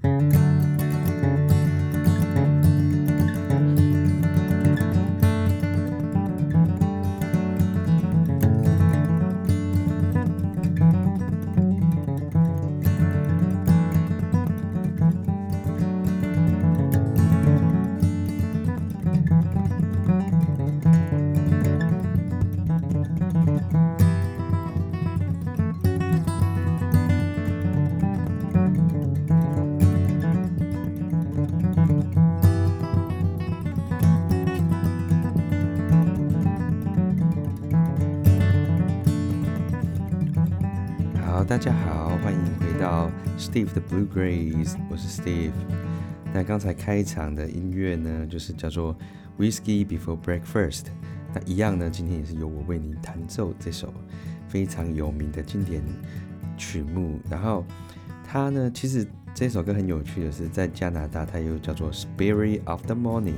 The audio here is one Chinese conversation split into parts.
好，大家好，欢迎回到 Steve 的 Bluegrass， 我是 Steve。那刚才开场的音乐呢，就是叫做 Whiskey Before Breakfast。那一样呢，今天也是由我为您弹奏这首非常有名的经典曲目。然后它呢，其实这首歌很有趣的是，在加拿大它又叫做 Spirit of the Morning，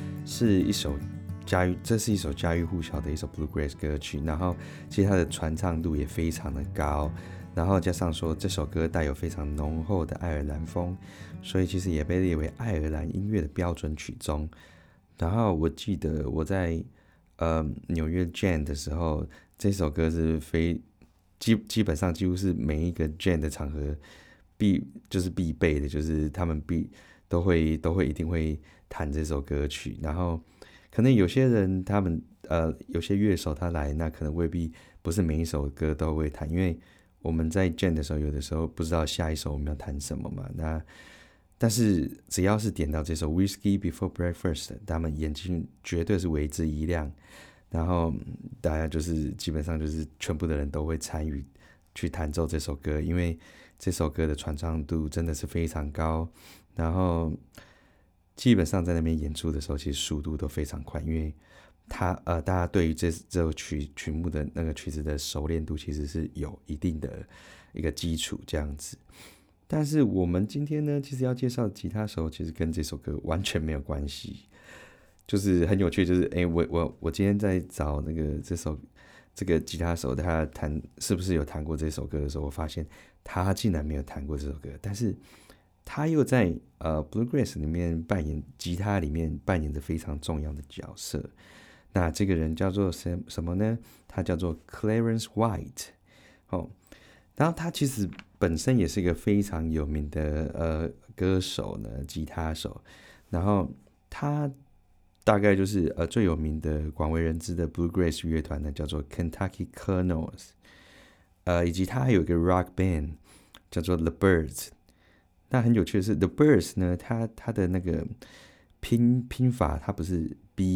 这是一首家喻户晓的一首 Bluegrass 歌曲。然后其实它的传唱度也非常的高。然后加上说这首歌带有非常浓厚的爱尔兰风，所以其实也被列为爱尔兰音乐的标准曲中。然后我记得我在纽约 Jam 的时候，这首歌是基本上几乎是每一个 Jam 的场合必备的，就是他们都会一定会弹这首歌曲。然后可能有些人他们有些乐手他来，那可能未必不是每一首歌都会弹，因为我们在 Jam 的时候，有的时候不知道下一首我们要弹什么嘛。但是只要是点到这首 Whiskey Before Breakfast， 他们眼睛绝对是为之一亮。然后大家就是基本上就是全部的人都会参与去弹奏这首歌，因为这首歌的传唱度真的是非常高。然后基本上在那边演出的时候，其实速度都非常快，因为大家对于这首曲目的那个曲子的熟练度其实是有一定的一个基础这样子。但是我们今天呢，其实要介绍的吉他手其实跟这首歌完全没有关系，就是很有趣，就是我今天在找那个这个吉他手他是不是有弹过这首歌的时候，我发现他竟然没有弹过这首歌，但是他又在Bluegrass 里面吉他里面扮演着非常重要的角色。那这个人叫做什么呢？他叫做 Clarence White。然后他其实本身也是一个非常有名的歌手呢，吉他手。然后他大概就是最有名的广为人知的 Bluegrass 乐团呢，叫做 Kentucky Colonels。以及他还有一个 rock band 叫做 The Byrds。那很有趣的是 The Byrds 呢，他的那个拼法，它不是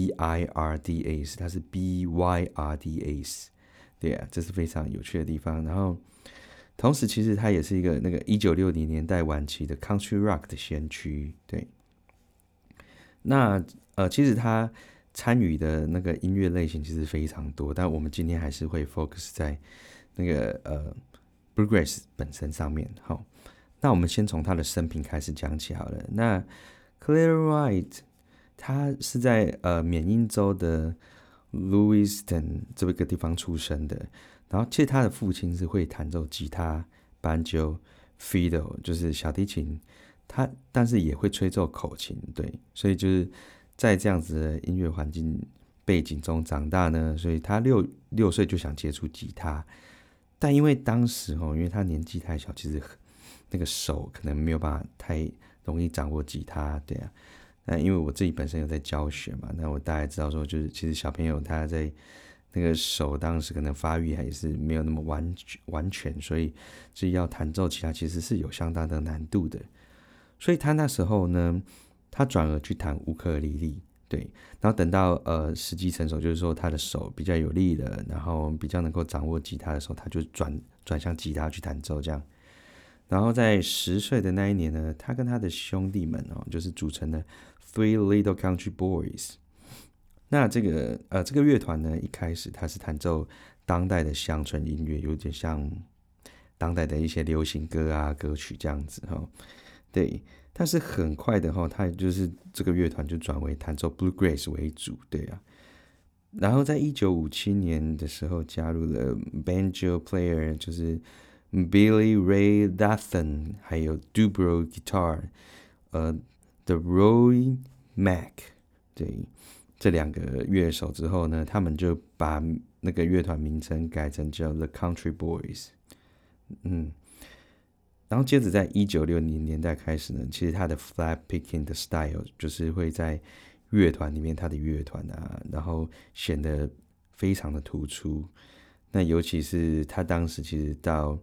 B-I-R-D-S， 它是 B-Y-R-D-S。 对啊，这是非常有趣的地方。然后同时其实它也是一个那个1960年代晚期的 Country Rock 的先驱。对，那其实他参与的那个音乐类型其实非常多，但我们今天还是会 focus 在那个Bluegrass 本身上面。好，那我们先从他的生平开始讲起好了。那 Clarence White 他是在缅因州的 Lewiston 这个地方出生的。然后其实他的父亲是会弹奏吉他、banjo、fiddle， 就是小提琴，但是也会吹奏口琴。对，所以就是在这样子的音乐环境背景中长大呢，所以他六岁就想接触吉他。但因为当时因为他年纪太小，其实那个手可能没有办法太容易掌握吉他。对啊，那因为我自己本身有在教学嘛，那我大概知道说，就是其实小朋友他在那个手当时可能发育还是没有那么完全，所以要弹奏吉他其实是有相当的难度的。所以他那时候呢，他转而去弹乌克丽丽。对，然后等到时机成熟，就是说他的手比较有力了，然后比较能够掌握吉他的时候，他就转向吉他去弹奏这样。然后在10岁的那一年呢，他跟他的兄弟们就是组成了 Three Little Country Boys。那这个乐团呢，一开始他是弹奏当代的乡村音乐，有点像当代的一些流行歌啊歌曲这样子对，但是很快的他就是这个乐团就转为弹奏 Bluegrass 为主。对啊，然后在1957年的时候加入了 banjo player， 就是 Billy Ray Lathan，还有 Dubrow Guitar，The Roy Mac， 对，这2个乐手之后呢，他们就把那个乐团名称改成叫 The Country Boys。然后接着在1960年代开始呢，其实他的 flat picking 的 style 就是会在乐团里面，他的乐团啊，然后显得非常的突出。那尤其是他当时其实到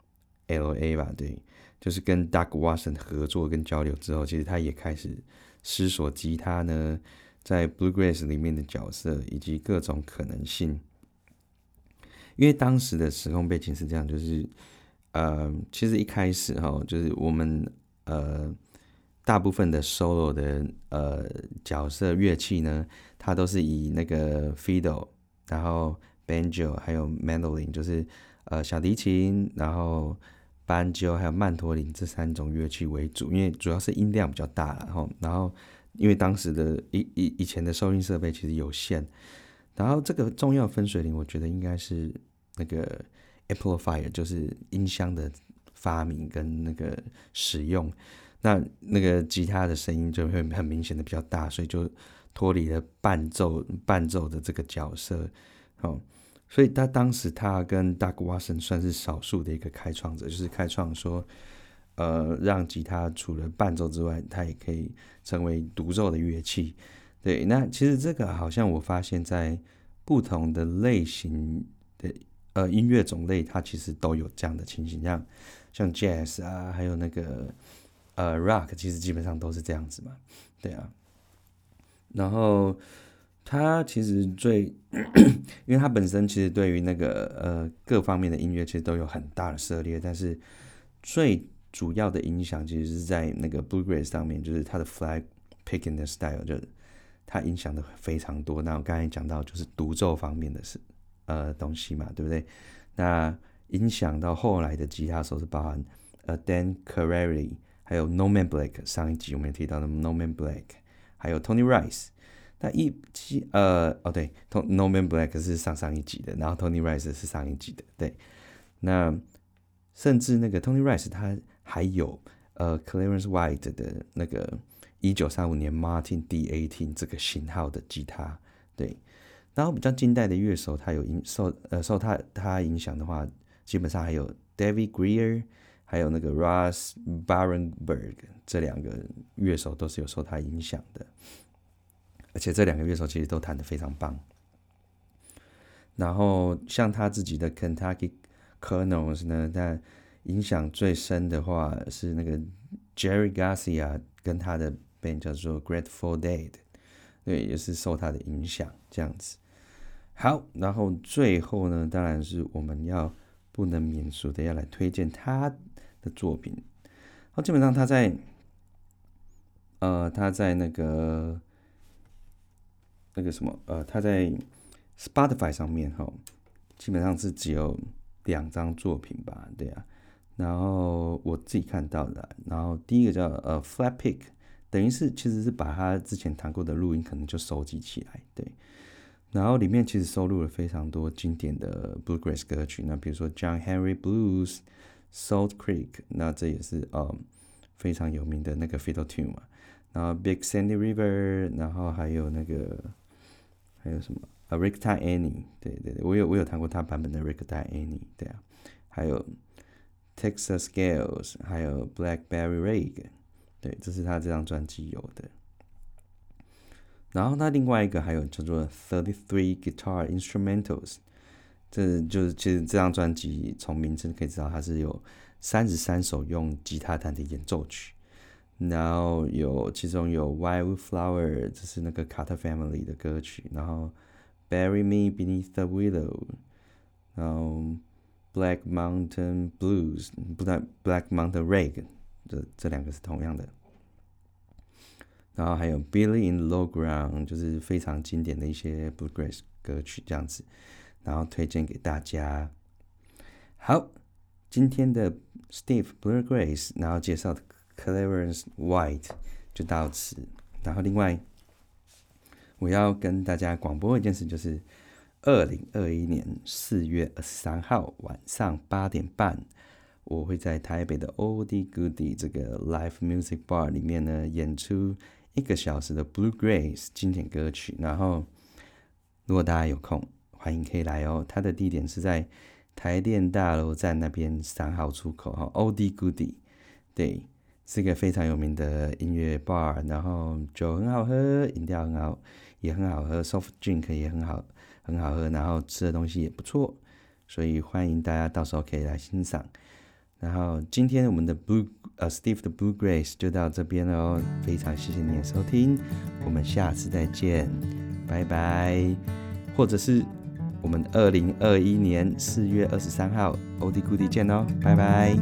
LA 吧，对，就是跟 Doug Watson 合作跟交流之后，其实他也开始思索吉他呢在 Bluegrass 里面的角色以及各种可能性。因为当时的时空背景是这样，就是其实一开始就是我们大部分的 solo 的角色乐器呢，它都是以那个 fiddle， 然后 banjo 还有 mandolin， 就是小提琴，然后banjo 还有曼陀林这3种乐器为主，因为主要是音量比较大啦，然后因为当时的以前的收音设备其实有限，然后这个重要分水岭，我觉得应该是那个 amplifier， 就是音箱的发明跟那个使用。那个吉他的声音就会很明显的比较大，所以就脱离了伴奏的这个角色。所以当时他跟 Doug Watson 算是少数的一个开创者，就是开创说让吉他除了伴奏之外，它也可以成为独奏的乐器。对，那其实这个好像我发现在不同的类型的音乐种类，它其实都有这样的情形，像 Jazz 啊，还有那个Rock， 其实基本上都是这样子嘛，对啊。然后它其实因为它本身其实对于那个各方面的音乐其实都有很大的涉猎，但是最主要的影响其实是在那个 Bluegrass 上面，就是它的 flat picking 的 style， 就是它影响的非常多。那我刚才讲到就是独奏方面的东西嘛，对不对？那影响到后来的吉他手是包含Dan Carey， 还有 Norman Blake， 上一集我们也提到的 Norman Blake， 还有 Tony Rice。那对 ，Norman Blake 是上一集的，然后 Tony Rice 是上一集的，对。那甚至那个 Tony Rice 他还有Clarence White 的那个1935年 Martin D18 这个型号的吉他，对。然后比较近代的乐手，他有受他影响的话，基本上还有 David Grier， 还有那个 Ross Barenberg， 这2个乐手都是有受他影响的，而且这2个乐手其实都弹得非常棒。然后像他自己的 Kentucky Colonels 呢，那影响最深的话是那个 Jerry Garcia 跟他的 band 叫做 Grateful Dead， 对，也是受他的影响这样子。好，然后最后呢，当然是我们不能免俗的要来推荐他的作品。基本上他在那个什么他在 Spotify 上面基本上是只有2张作品吧，对啊。然后我自己看到的，然后第一个叫Flat Pick， 等于是其实是把他之前弹过的录音可能就收集起来，对。然后里面其实收录了非常多经典的 Bluegrass 歌曲，那比如说 John Henry Blues、Salt Creek， 那这也是非常有名的那个 fiddle tune 嘛。然后 Big Sandy River， 然后还有什么Ragtime Annie， 对，我有弹过他版本的 Ragtime Annie， 对啊。还有 Texas Scales， 还有 Blackberry Rag， 对，这是他这张专辑有的。然后他另外一个还有叫做 33 Guitar Instrumentals， 这就是其实这张专辑从名称可以知道它是有33首用吉他弹的演奏曲，然后其中有 Wildflower， 这是那个 Carter Family 的歌曲，然后 Bury Me Beneath the Willow， 然后 Black Mountain Blues， 不对 Black Mountain Rag， 这2个是同样的。然后还有 Billy in the Low Ground， 就是非常经典的一些 Bluegrass 歌曲这样子，然后推荐给大家。好，今天的 Steve Bluegrass， 然后介绍的 Clarence White 就到此。然后另外我要跟大家广播一件事，就是2021年4月23号晚上8点半我会在台北的 Oldie Goodie 这个 Live Music Bar 里面呢演出1个小时的 Bluegrass 经典歌曲。然后如果大家有空，欢迎可以来哦。它的地点是在台电大楼站那边3号出口Oldie Goodie， 对，是一个非常有名的音乐 bar， 然后酒很好喝，饮料也很好喝， soft drink 也很好喝，然后吃的东西也不错，所以欢迎大家到时候可以来欣赏。然后今天我们的Steve 的 Bluegrass 就到这边了哦，非常谢谢你的收听，我们下次再见，拜拜。或者是我们2021年4月23号 Oldie Goodie 见哦，拜拜。